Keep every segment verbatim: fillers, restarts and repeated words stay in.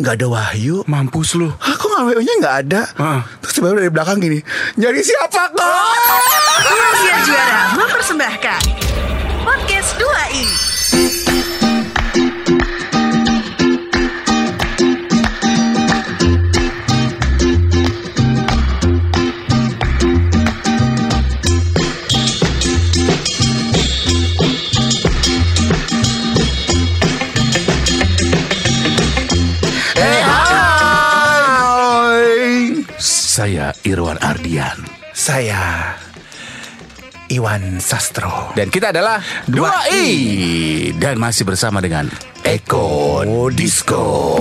nggak ada Wahyu. Mampus lu. Aku nggak W O-nya nggak ada. Uh. Terus tiba-tiba dari belakang gini, nyari siapa kok? Rahasia Juara mempersembahkan Podcast dua i. Saya Irwan Ardian. Saya Iwan Sastro. Dan kita adalah dua i. Dan masih bersama dengan Eko Disco.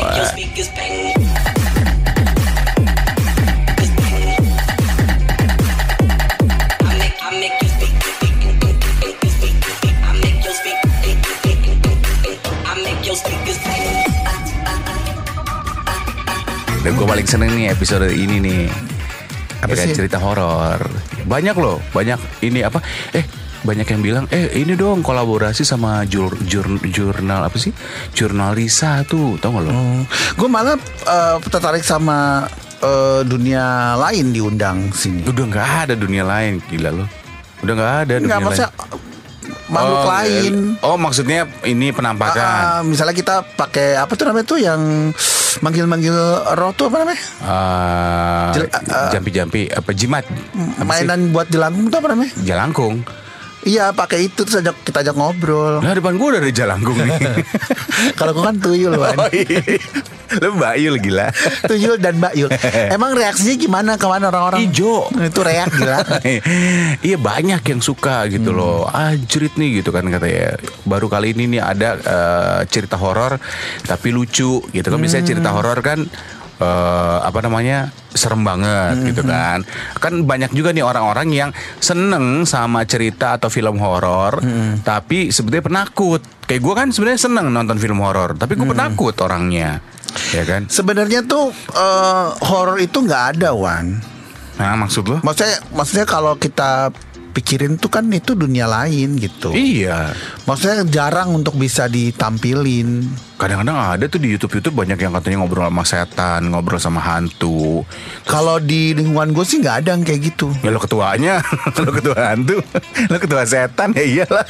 Dan gue paling seneng nih episode ini nih. Apa ya, sih? Cerita horor. Banyak loh, banyak ini apa? Eh, banyak yang bilang, eh ini dong kolaborasi sama jur, jur, jurnal apa sih? Jurnal Risa tuh, tau gak lo? Hmm. Gue malah uh, tertarik sama uh, dunia lain diundang sini. Udah nggak ada dunia lain, gila lo. Udah nggak ada dunia Nggak, maksudnya, lain. Makhluk oh, lain. Oh, maksudnya ini penampakan. Uh, misalnya kita pakai apa tuh namanya tuh yang manggil-manggil roh tuh apa namanya? Uh, Jel- uh, jampi-jampi apa jimat? Apa mainan sih? buat jelangkung tuh apa namanya? Jalangkung. Iya, pakai itu terus ajak, kita ajak ngobrol. Nah, depan gue udah ada jalangkung nih. Kalau gue kan tuyul, Wan. Oh, iya. Lu Bayul gila. Tuyul dan Bayul. Emang reaksinya gimana kemana orang-orang? Ijo. Itu reak gila. Iya, banyak yang suka gitu hmm. loh. Anjrit nih gitu kan katanya. Baru kali ini nih ada uh, cerita horor tapi lucu gitu kan. Biasanya hmm. cerita horor kan Uh, apa namanya serem banget mm-hmm. gitu kan. Kan banyak juga nih orang-orang yang seneng sama cerita atau film horor, mm-hmm. tapi sebetulnya penakut. Kayak gue kan sebenarnya seneng nonton film horor, tapi gue mm-hmm. penakut orangnya, ya kan. Sebenarnya tuh uh, horor itu nggak ada, Wan. Nah, maksud lo? Maksudnya, maksudnya kalau kita pikirin tuh kan itu dunia lain gitu. Iya. Maksudnya jarang untuk bisa ditampilin. Kadang-kadang ada tuh di YouTube-YouTube banyak yang katanya ngobrol sama setan, ngobrol sama hantu. Kalau di lingkungan gue sih nggak ada yang kayak gitu. Ya lo ketuanya, lo ketua hantu, lo ketua setan ya iyalah.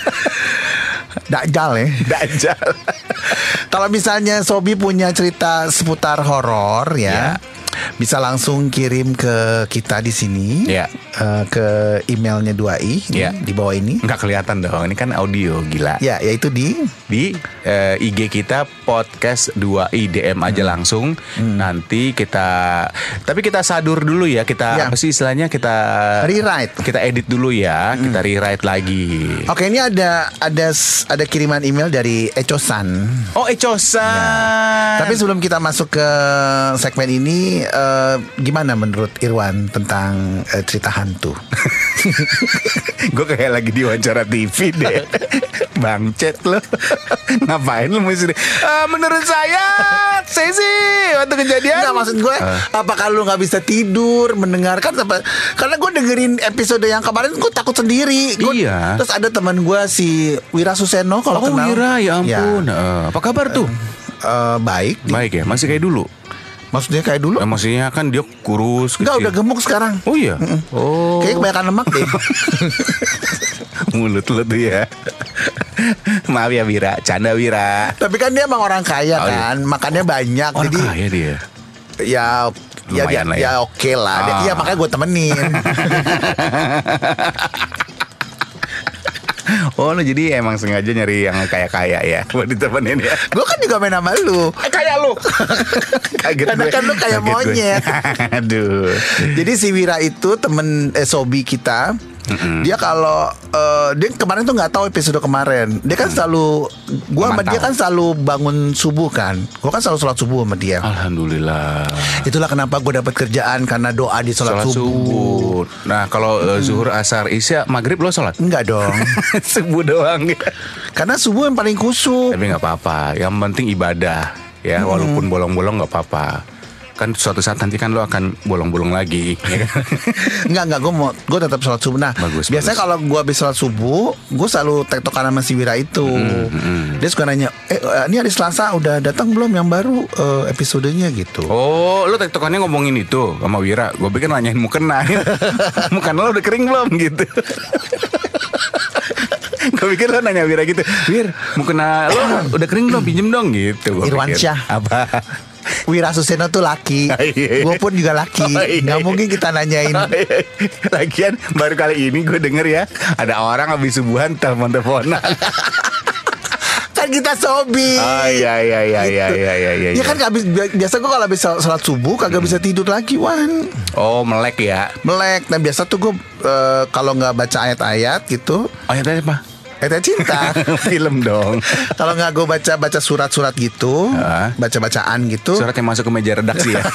Dajjal ya. Dajjal. Kalau misalnya Sobi punya cerita seputar horor ya, ya, bisa langsung kirim ke kita di sini, ya. uh, ke emailnya dua i ya. Di bawah ini. Nggak kelihatan dong, ini kan audio gila. Ya, yaitu di di uh, I G kita podcast dua i, D M aja hmm. langsung. Hmm. Nanti kita, tapi kita sadur dulu ya, kita ya. Apa sih istilahnya, kita rewrite, kita edit dulu ya, hmm. kita rewrite lagi. Oke, ini ada ada ada kiriman email dari Ecosan. Oh, Ecosan. Ya. Tapi sebelum kita masuk ke segmen ini, uh, gimana menurut Irwan tentang uh, cerita hantu? Gue kayak lagi di wawancara T V deh. Bang Cet lo. Ngapain lo mesti uh, menurut saya Saya sih waktu kejadian nggak, maksud gue uh. apakah lu gak bisa tidur mendengarkan apa? Karena gue dengerin episode yang kemarin gue takut sendiri gua, Iya. Terus ada teman gue si Wira Suseno. Kalau oh, kenal. Wira, ya ampun ya. Uh, Apa kabar tuh? Uh, uh, baik. Baik ya, masih kayak dulu. Maksudnya kayak dulu? Nah, maksudnya kan dia kurus. Enggak, udah gemuk sekarang. Oh iya. Mm-mm. Oh. Kayaknya kebanyakan lemak deh. Mulut lo tuh ya. Maaf ya Wira, canda Wira. Tapi kan dia emang orang kaya oh, kan, iya. Makannya banyak. Orang jadi kaya dia. Ya, ya, dia, lah ya. ya oke okay lah. Ah. Iya makanya gue temenin. Oh lo jadi emang sengaja nyari yang kaya-kaya ya buat ditemenin ya. Gue kan juga main sama lu. Eh, kayak lu. Karena kan lu kayak monyet. Aduh. Jadi si Wira itu temen eh, Sobi kita. Mm-hmm. Dia kalau uh, dia kemarin tuh nggak tahu episode kemarin. Dia kan selalu, gue sama dia kan selalu bangun subuh kan. Gue kan selalu sholat subuh sama dia. Alhamdulillah. Itulah kenapa gue dapat kerjaan, karena doa di sholat, sholat subuh. subuh. Nah kalau uh, zuhur, asar, isya, maghrib lo sholat? Enggak dong. Subuh doang. Karena subuh yang paling khusyuk. Tapi nggak apa-apa. Yang penting ibadah ya, hmm. walaupun bolong-bolong nggak apa-apa. kan suatu saat nanti kan lo akan bolong-bolong lagi, ya kan? Enggak enggak gue mau gue tetap sholat subuh. Nah Bagus, biasanya bagus. kalau gue habis sholat subuh, gue selalu tektokan sama si Wira itu. Hmm, hmm. Dia suka nanya, eh ini hari Selasa udah datang belum yang baru eh, episodenya gitu. Oh, lo tektokannya ngomongin itu sama Wira. Gue pikir nanyain mukena. Mukena lo udah kering belum gitu. Gue pikir lo nanya Wira gitu, Wir, mukena lo udah kering belum, pinjem dong gitu. Gua Irwansyah. pikir. Apa? Wira Suseno tuh laki, Oh, iya. gue pun juga laki. Oh, iya. Nggak mungkin kita nanyain. Lagian baru kali ini gue denger ya, ada orang habis subuhan telepon-teleponan. Kan kita sobi. Oh iya iya iya iya iya iya iya. Ya kan habis biasa gue kalau habis sholat subuh kagak bisa tidur lagi, Wan. Oh, melek ya. Melek. Nah biasa tuh gue eh, kalau nggak baca ayat-ayat gitu, Oh ya tadi apa? ayat cinta. Film dong. Kalau nggak gue baca baca surat-surat gitu, Ah. baca bacaan gitu, Surat yang masuk ke meja redaksi ya.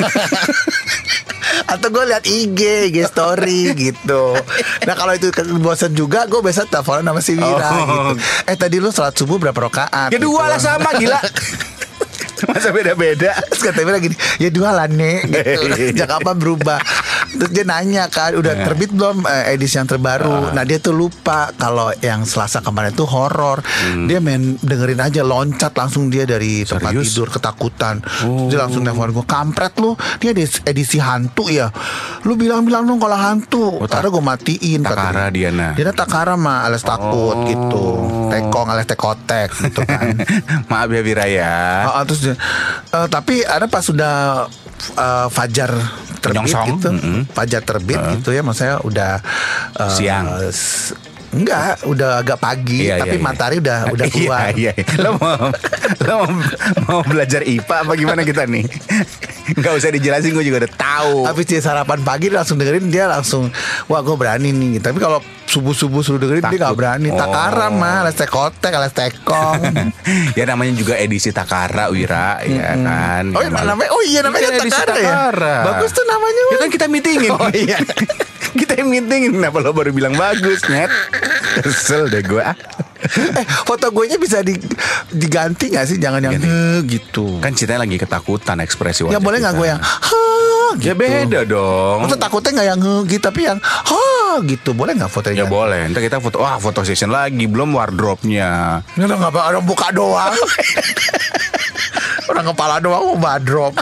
atau gue lihat I G, I G story gitu. Nah kalau itu bosan juga, gue biasa teleponan sama si Wira Oh. gitu. Eh tadi lu sholat subuh berapa rakaat? Ya dua gitu. lah sama gila. Masa beda-beda. Terus kata Wira gini, ya dua lah nek gitu. Sejak kapan berubah? Terus dia nanya kan, udah terbit belum eh, edisi yang terbaru? Nah dia tuh lupa kalau yang Selasa kemarin tuh horor. Dia main dengerin aja, loncat langsung dia dari tempat Serius? tidur ketakutan. Terus dia langsung telepon gue, kampret lu, dia edisi, edisi hantu ya. Lu bilang-bilang dong kalau hantu. Oh, tak- Karena gue matiin. kata Takara dia. Diana. Dia Takara mah alias takut Oh. gitu. Tekong alias tekotek gitu kan. Maaf ya Wira ya. Ah, ah, terus dia, eh, tapi ada pas sudah eh, fajar terbit Menyongsong. gitu, Mm-mm. fajar terbit gitu ya, maksudnya udah eh, Siang. s- enggak, udah agak pagi, Iya, tapi iya, iya. matahari udah udah keluar. Iya, iya. Lo mau, lo mau, mau belajar I P A apa gimana kita nih? Gak usah dijelasin, gue juga udah tahu. Habis dia sarapan pagi dia langsung dengerin, dia langsung wah gue berani nih. Tapi kalau subuh-subuh suruh dengerin dia Takut. nggak berani. Oh. Takara mah, alias tekotek, alias tekong. Ya namanya juga edisi Takara Wira, ya kan. Oh, iya, Yang namanya, oh iya namanya Iya, edisi Takara, ya. Takara. Bagus tuh namanya. Ya Wan. kan kita meetingin. Oh iya. Kita yang meetingin. Kenapa lo baru bilang bagus, Net? Kesel deh gue. Eh, foto gue nya bisa di- diganti nggak sih? Jangan yang Ganti. "Heh," gitu. Kan ceritanya lagi ketakutan ekspresi Ya wajah boleh nggak kita. gue yang ha gitu. Ya beda dong. Maksudnya takutnya nggak yang nge gitu, tapi yang ha gitu. Boleh nggak fotonya? Ya boleh. Ntar kita foto. Wah, foto session lagi. Belum wardrobe-nya. Ini udah nggak apa, orang buka doang. Orang kepala doang mau badrop.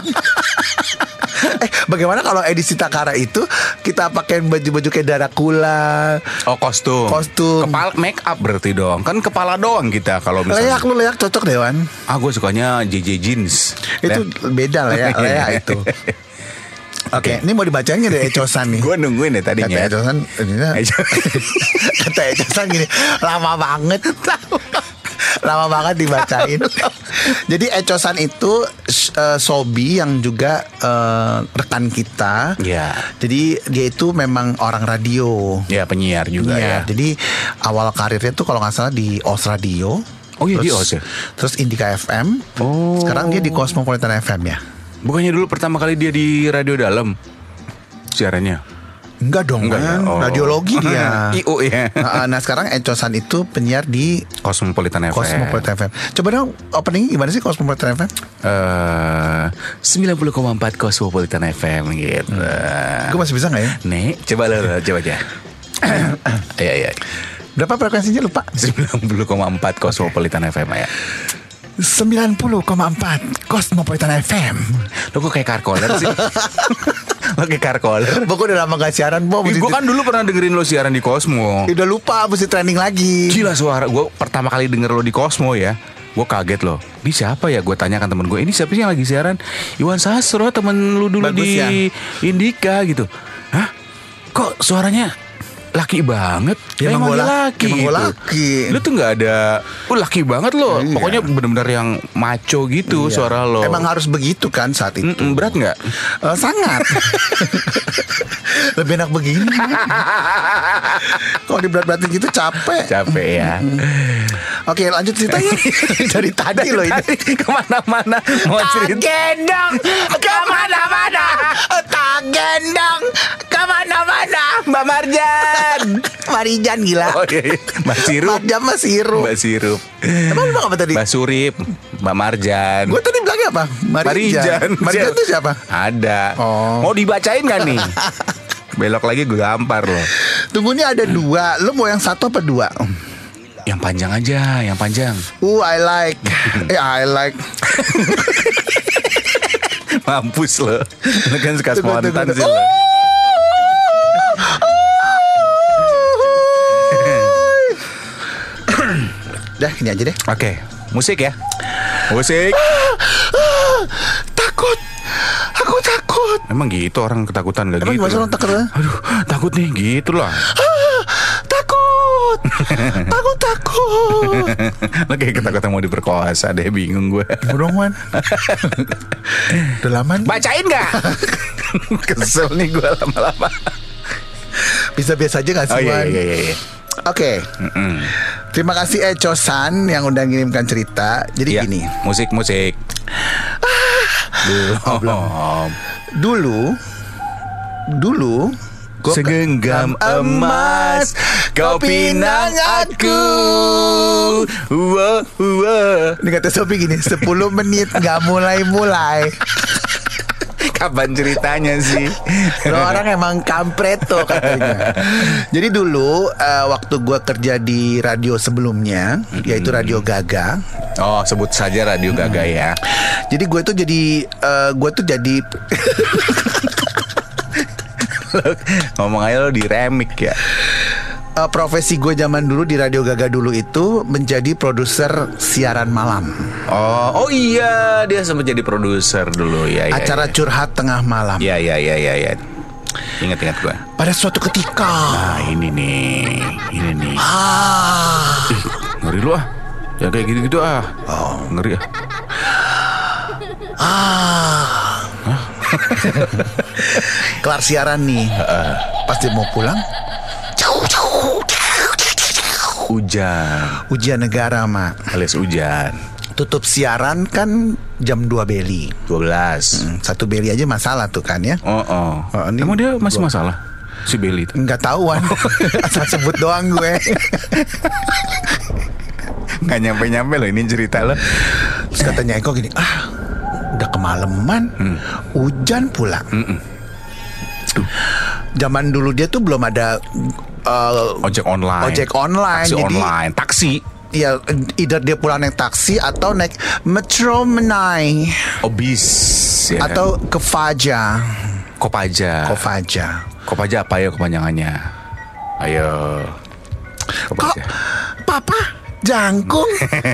Eh, bagaimana kalau edisi Takara itu kita pakai baju-baju kayak Dracula? Oh, kostum. Kostum. Kepala make up berarti dong. Kan kepala doang kita kalau misalnya. Leyak lu leyak cocok Dewan. Ah, gue sukanya J J jeans. Itu beda lah ya, leyak itu. Oke, ini mau dibacain nggak dari Ecosan nih? Gue nungguin deh tadinya. Kata Ecosan, ininya, Eco- kata Ecosan gini, lama banget. Lama banget dibacain. Jadi Ecosan itu uh, Sobi yang juga uh, rekan kita. Ya. Jadi dia itu memang orang radio. Ya, penyiar juga Iya, ya. Jadi awal karirnya tuh kalau nggak salah di Os Radio. Oh iya, di Terus- Os ya? Terus Indika F M. Oh. Sekarang dia di Cosmopolitan F M ya. Bukannya dulu pertama kali dia di radio dalam siarannya? Enggak dong, Enggak ya? kan? Oh. Radiologi dia. I U ya. Nah, nah sekarang Ecosan itu penyiar di Cosmopolitan F M. Cosmopolitan F M. Coba dong opening gimana sih Cosmopolitan F M? Eh, sembilan puluh koma empat Cosmopolitan F M gitu. Gue masih bisa nggak ya? Nih, coba lo, lo, coba aja. Iya, iya. Berapa frekuensinya lupa? sembilan puluh koma empat Cosmopolitan F M ya. sembilan puluh koma empat Cosmopolitan F M. Lo kok kayak karkoler sih? Lo kayak karkoler. Gue udah lama gak siaran, Bo. Gue kan dulu pernah dengerin lo siaran di Cosmo. udah lupa, mesti training lagi. Gila suara gue pertama kali denger lo di Cosmo ya. Gue kaget loh. Ini siapa ya? Gue tanyakan temen gue. Ini siapa sih yang lagi siaran? Iwan Sastro, temen lu dulu Bagus di ya? Indika gitu. Hah? Kok suaranya laki banget? Ya, Lah, emang dia gua laki, laki emang gua gitu. laki. Lu tuh nggak ada. Oh, laki banget lo. Iya. Pokoknya bener-bener yang maco gitu Iya. suara lo. Emang harus begitu kan saat itu. Mm-mm, berat nggak? Eh, sangat. Lebih enak begini. Kalau diberat-beratin gitu capek. Capek ya. Oke, lanjut ceritanya. Dari tadi loh ini. Tadi kemana-mana mau cerita. Gendong kemana-mana, tak gendong kemana-mana. Mbak Marjan. Marijan gila. Oh iya, iya. Mbak Sirup. Marjan mah sirup. Mbak Sirup. Emang lu bilang apa tadi? Mbak Surip. Mbak Marjan. Gue tadi bilangnya apa? Marijan. Marijan itu siapa? Ada. Oh. Mau dibacain gak nih? Belok lagi gue gampar loh. Tunggu, ini ada dua. Lo mau yang satu apa dua? Yang panjang aja, yang panjang. Uh, I like. eh, I like. Mampus lo. Lo kan suka Tunggu, spontan tunggu, sih tunggu. lo. Dah, ini aja deh. Oke, musik ya. Musik. Takut. Aku takut. Emang gitu orang ketakutan gak Emang gitu? gimana orang takut? Aduh, takut nih gitu lah. Takut. Takut, takut. Lo kayak ketakutan mau diperkosa deh, bingung gue. Burung Wan. Udah lama nih. Bacain gak? Kesel nih gue lama-lama. Bisa biasa aja gak sih, Oh iya Wan? iya iya, iya. Oke. Mm-mm. Terima kasih Echo San yang udah ngirimkan cerita. Jadi Iya, gini. musik musik. Oh, belum. Dulu Dulu gua Segenggam emas kau pinang aku. Wah, wah. Ini kata Sobi gini, sepuluh menit gak mulai-mulai. Kapan ceritanya sih? Lo orang emang kampret tuh katanya. Jadi dulu uh, waktu gue kerja di radio sebelumnya, mm-hmm. yaitu Radio Gaga. Oh, sebut saja Radio Gaga ya. Jadi gue tuh jadi uh, gue tuh jadi Ngomong aja lo di remix ya. uh, profesi gue zaman dulu di Radio Gaga dulu itu menjadi produser siaran malam. Oh, oh iya, dia sempat jadi produser dulu ya. ya Acara ya. curhat tengah malam. Ya ya ya ya ya. Ingat-ingat gue. Pada suatu ketika. Nah ini nih, ini nih. Ah. Ih, ngeri lu ah. Ya kayak gitu-gitu ah. Oh, ngeri ah. Ah. Kelar siaran nih. Uh, Pas dia mau pulang, hujan. ujian negara, Mak. Alias hujan. Tutup siaran kan jam dua beli. dua belas. Hmm, satu beli aja masalah tuh kan ya. Oh, oh. Oh, ini Emang dia masih gua- masalah? Si Belly itu? Nggak tahuan. Asal sebut doang gue. Nggak nyampe-nyampe loh ini cerita lo. Terus katanya Eko gini, ah udah kemalaman, Hmm. hujan pula. Zaman dulu dia tuh belum ada uh, Ojek online. ojek online. Taksi Jadi online. Taksi. ya either dia pulang naik taksi atau naik Metro Menai Obis. Ya atau ke Faja. kan? Kopaja. Kopaja. Kopaja apa ya kepanjangannya? Ayo. Kok Kopaja. Papa jangkung?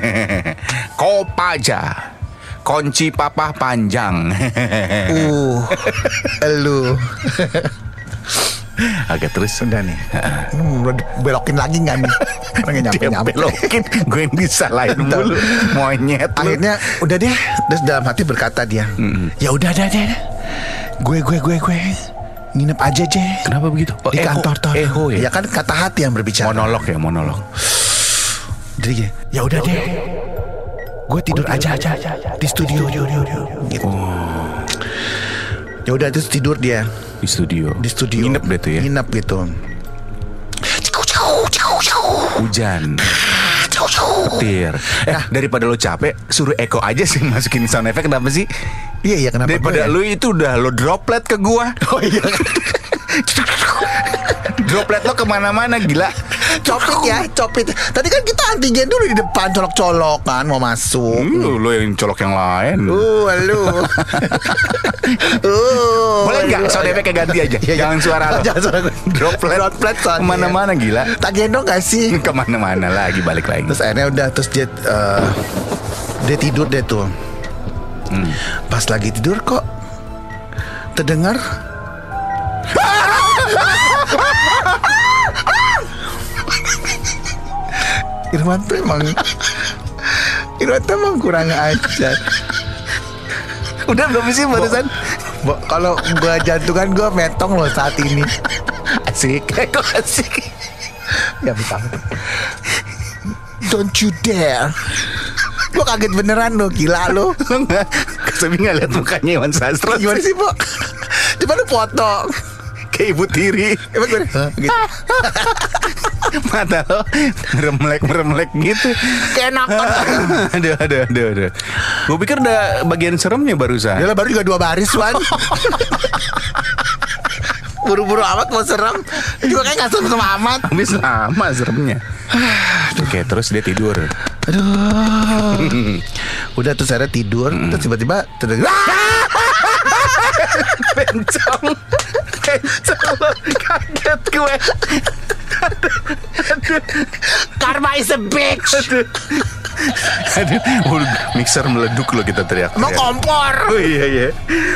Kopaja. Kunci papa panjang. uh, elu. Agak terus. Udah nih. Hmm, udah belokin lagi nggak nih? Orangnya nyampe Dia nyampe. belokin. Gue yang disalahin mulu. Monyet lu. Akhirnya udah deh. Terus dalam hati berkata dia, ya udah deh deh. Gue gue gue gue nginep aja aja Kenapa begitu? Oh, di eho. kantor tuh. Eho ya? Ya kan kata hati yang berbicara. Monolog ya, monolog. Jadi gini, ya udah deh. Gue tidur aja aja di studio. Gitu. Ya udah terus tidur dia Di studio. di studio. Nginep deh tuh ya. Nginep gitu. Hujan. Petir. Eh daripada lo capek, suruh Eko aja sih masukin sound effect. Kenapa sih? Iya iya kenapa? Daripada gue ya? lu itu udah lo droplet ke gua. Oh iya. Droplet lo kemana-mana gila. Copit ya, copit. Tadi kan kita antigen dulu di depan, colok-colok kan mau masuk. Lu, lo yang colok yang lain. Uh, lu. uh, Boleh nggak lu. sound effect ganti aja? Iya, iya. Jangan suara lo. Jangan suara gue. Droplet. Droplet soundnya. Kemana-mana gila. Tak gendong gak sih? Kemana-mana lagi balik lagi. Terus akhirnya udah terus dia eh, dia tidur deh tuh. Hmm. Pas lagi tidur kok terdengar Irwan tuh emang Irwan tuh emang kurang ajar. Udah belum sih barusan? Bo, kalau gua jantungan gua metong loh saat ini. Asik. Kok asik? Ya betul. Don't you dare. Gua kaget beneran lo, gila lo. Lo nggak? Kesebi nggak lihat mukanya Iwan Sastro? Gimana sih, Bo? Coba lu foto. Kayak ibu tiri. Emang gue, gitu. Mata lo meremlek-meremlek gitu. Keenakan. Aduh, aduh, aduh, aduh. Gue pikir udah bagian seremnya barusan. Yalah, baru juga dua baris, Wan. Buru-buru amat mau serem. Juga kayak gak serem amat. Habis lama seremnya. Oke, terus dia tidur. Aduh. Udah terus akhirnya tidur. Mm. Terus tiba-tiba terdengar Bencong. Bencong lo. Kaget gue. Aduh, aduh. Karma is a bitch. Aduh. Aduh, oh, mixer meleduk lo kita teriak. Mau kompor. Oh iya iya.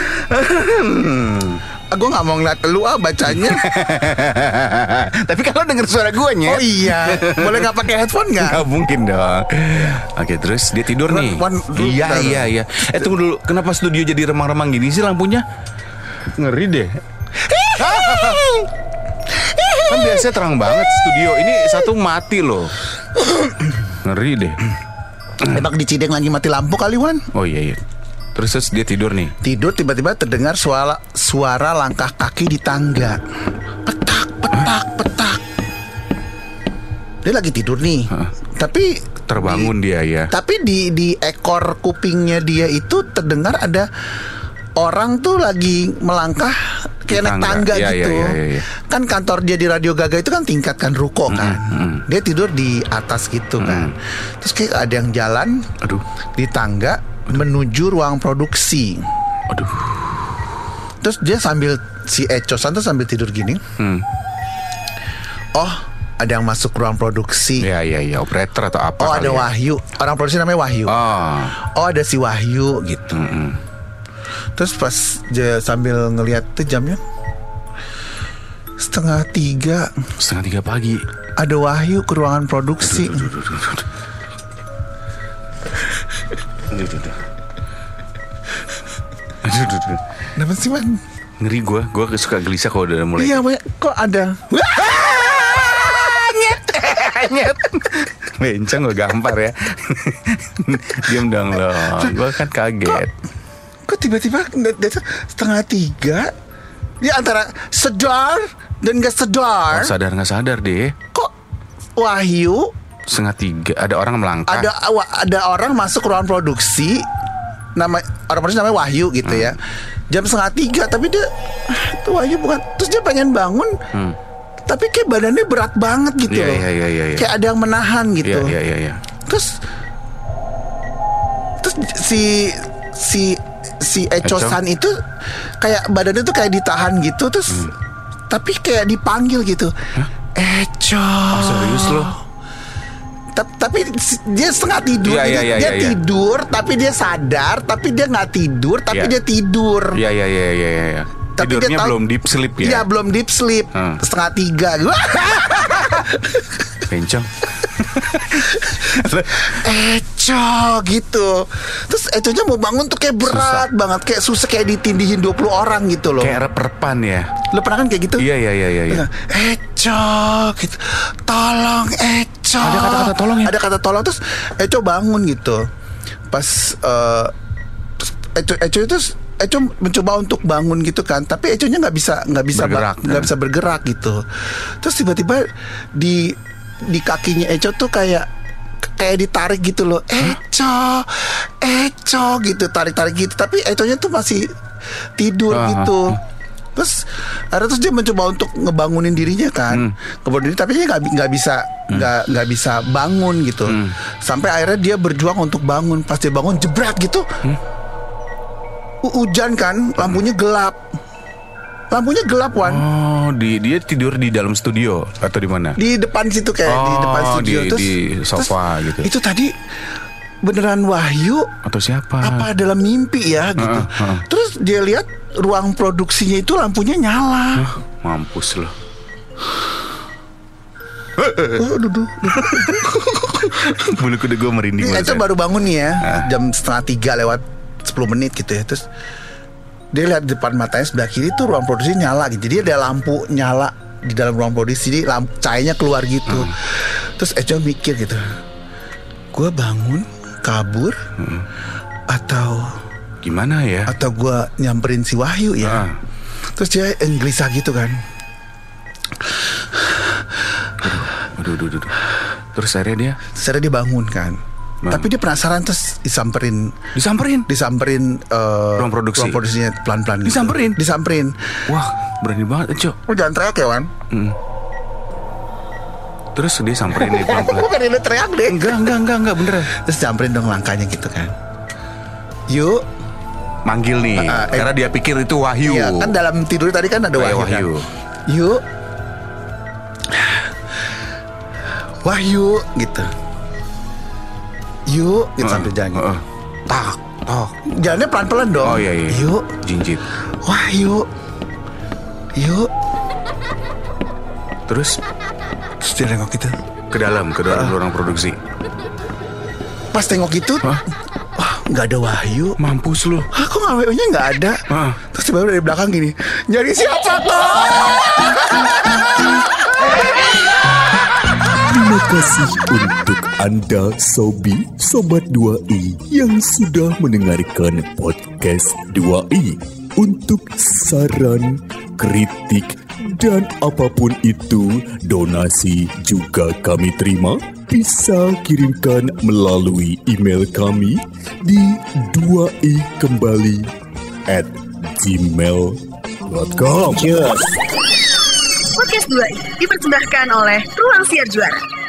Gue gak mau ngeliat lu ah bacanya. Tapi kalau denger suara gue nya. Oh iya. Boleh gak pakai headphone gak? Gak mungkin dong. Oke, terus dia tidur nih. One, two, Iya one. iya iya. Eh tunggu dulu. Kenapa studio jadi remang-remang gini sih lampunya? Ngeri deh. Kan biasanya terang banget studio. Ini satu mati loh. Ngeri deh. Emang di Cideng lagi mati lampu kali, Wan. Oh iya iya. Terus, terus dia tidur nih. Tidur tiba-tiba terdengar suara suara langkah kaki di tangga. Petak, petak, petak. Dia lagi tidur nih. Hah? Tapi Terbangun di, dia ya. Tapi di di ekor kupingnya dia itu terdengar ada orang tuh lagi melangkah kayak naik tangga ya, gitu. ya, ya, ya. Kan kantor dia di Radio Gaga itu kan tingkat kan ruko kan. Mm, mm. Dia tidur di atas gitu Mm. kan. Terus kayak ada yang jalan Aduh. di tangga menuju ruang produksi. Aduh. Terus dia sambil si Ecosan tuh sambil tidur gini. Hmm. Oh, ada yang masuk ruang produksi. Ya ya ya, operator atau apa? Oh, kali ada ya? Wahyu. Orang produksi namanya Wahyu. Oh. Oh, ada si Wahyu gitu. Mm-mm. Terus pas dia sambil ngelihat tuh jamnya setengah tiga. Setengah tiga pagi. Ada Wahyu ke ruangan produksi. Aduh, aduh, aduh, aduh. Aduh, aduh, aduh. Aduh, aduh, aduh. Kenapa sih, Man? Ngeri gue, gue suka gelisah kalau udah mulai. Iya, Wan. Kok ada? Nyet. Bencong gue gampar ya. Diam dong lo. Gue kan kaget. Kok tiba-tiba dia tuh setengah tiga? Dia antara sedar dan gak sedar. Oh, sadar nggak sadar deh. Kok Wahyu Setengah tiga ada orang melangkah. ada ada orang masuk ruang produksi, nama orang produksi namanya Wahyu gitu ya. Jam setengah tiga tapi dia tuh Wahyu bukan. Terus dia pengen bangun. Hmm. Tapi kayak badannya berat banget gitu Iya, loh. iya, iya, iya, iya. Kayak ada yang menahan gitu. Iya iya iya iya. Terus terus si si si Ecosan itu kayak badannya tuh kayak ditahan gitu terus hmm. tapi kayak dipanggil gitu. Hah? Eco. Oh, serius loh? Ta- tapi dia setengah tidur. Iya, Jadi iya, iya, dia iya. tidur tapi dia sadar tapi dia nggak tidur tapi Iya. dia tidur. Iya iya iya iya iya. Tapi Tidurnya dia tahu- belum deep sleep ya. Iya belum deep sleep. Hmm. Setengah tiga. Bencong. Eco gitu. Terus Econya mau bangun tuh kayak berat Susah. banget, kayak susah, kayak ditindihin dua puluh orang gitu loh. Kayak rep-repan ya. Lo pernah kan kayak gitu? Iya iya iya iya. iya. Eco gitu. Tolong Eco. Ada kata-kata tolong ya? Ada kata tolong. Terus Eco bangun gitu. Pas uh, terus Eco Eco itu Eco mencoba untuk bangun gitu kan, tapi Econya nggak bisa nggak bisa Bergerak, nggak kan? bisa bergerak gitu. Terus tiba-tiba di di kakinya Eco tuh kayak kayak ditarik gitu loh. Eco, Eco gitu, tarik-tarik gitu. Tapi Econya tuh masih tidur Ah, gitu. ah. Terus akhirnya terus dia mencoba untuk ngebangunin dirinya kan, Hmm. ngebangunin diri, tapi dia nggak nggak bisa nggak nggak bisa bangun gitu. Hmm. Sampai akhirnya dia berjuang untuk bangun. Pas dia bangun jebret gitu, Hmm. U- hujan kan, lampunya gelap, lampunya gelap Wan. Oh, di dia tidur di dalam studio atau di mana? Di depan situ kayak di Oh, depan studio di- terus di sofa terus, gitu. Itu tadi beneran Wahyu Atau siapa? apa dalam mimpi ya gitu. Uh, uh. Terus dia lihat ruang produksinya itu lampunya nyala. Hah, mampus loh. Oh, duduk. Bulu kudu gue merinding Ini banget. Eco baru bangun nih ya, jam setengah tiga lewat sepuluh menit gitu ya. Terus dia lihat depan matanya sebelah kiri tuh ruang produksi nyala gitu. Jadi ada lampu nyala di dalam ruang produksi, jadi lampu, cahayanya keluar gitu. Hmm. Terus Eco mikir gitu, gue bangun kabur Hmm. atau Gimana ya? atau gue nyamperin si Wahyu ya. Ah. Terus dia gelisah gitu kan. Aduh, aduh, aduh. Terus akhirnya dia Secara dia bangun kan. Bang. Tapi dia penasaran terus disamperin Disamperin? Disamperin uh, Ruang produksi? Ruang produksinya pelan-pelan gitu. Disamperin? Disamperin. Wah, berani banget, Cok. Lu jangan teriak ya, Wan. Hmm. Terus dia samperin nih pelan-pelan. Bukan lu teriak deh. Enggak, enggak, enggak, enggak, beneran. Terus samperin dong langkahnya gitu kan. Yuk. Manggil nih, Uh, eh, karena dia pikir itu Wahyu. Iya, kan dalam tidur tadi kan ada Oh, iya, Wahyu, Wahyu. kan. Yuk. Wahyu gitu. Yuk, gitu Uh, sambil jalan. uh, uh. Tak, tak. Jalannya pelan-pelan dong. Oh iya, iya. Yuk. Jinjit. Wahyu. Yuk. Terus Terus dia nengok gitu. ke dalam, ke dalam Uh. ruang produksi. Pas tengok gitu, Hah? wah nggak ada Wahyu. Mampus lu. Hah, kok nggak Wahyu-nya nggak ada? Ah. Terus tiba-tiba dari belakang gini, nyari siapa kok? Terima kasih untuk Anda Sobi Sobat dua i yang sudah mendengarkan podcast dua i. Untuk saran, kritik, dan apapun itu, donasi juga kami terima. Bisa kirimkan melalui email kami di dua i kembali at gmail dot com. Podcast dua i dipersembahkan oleh Ruang Siar Juara.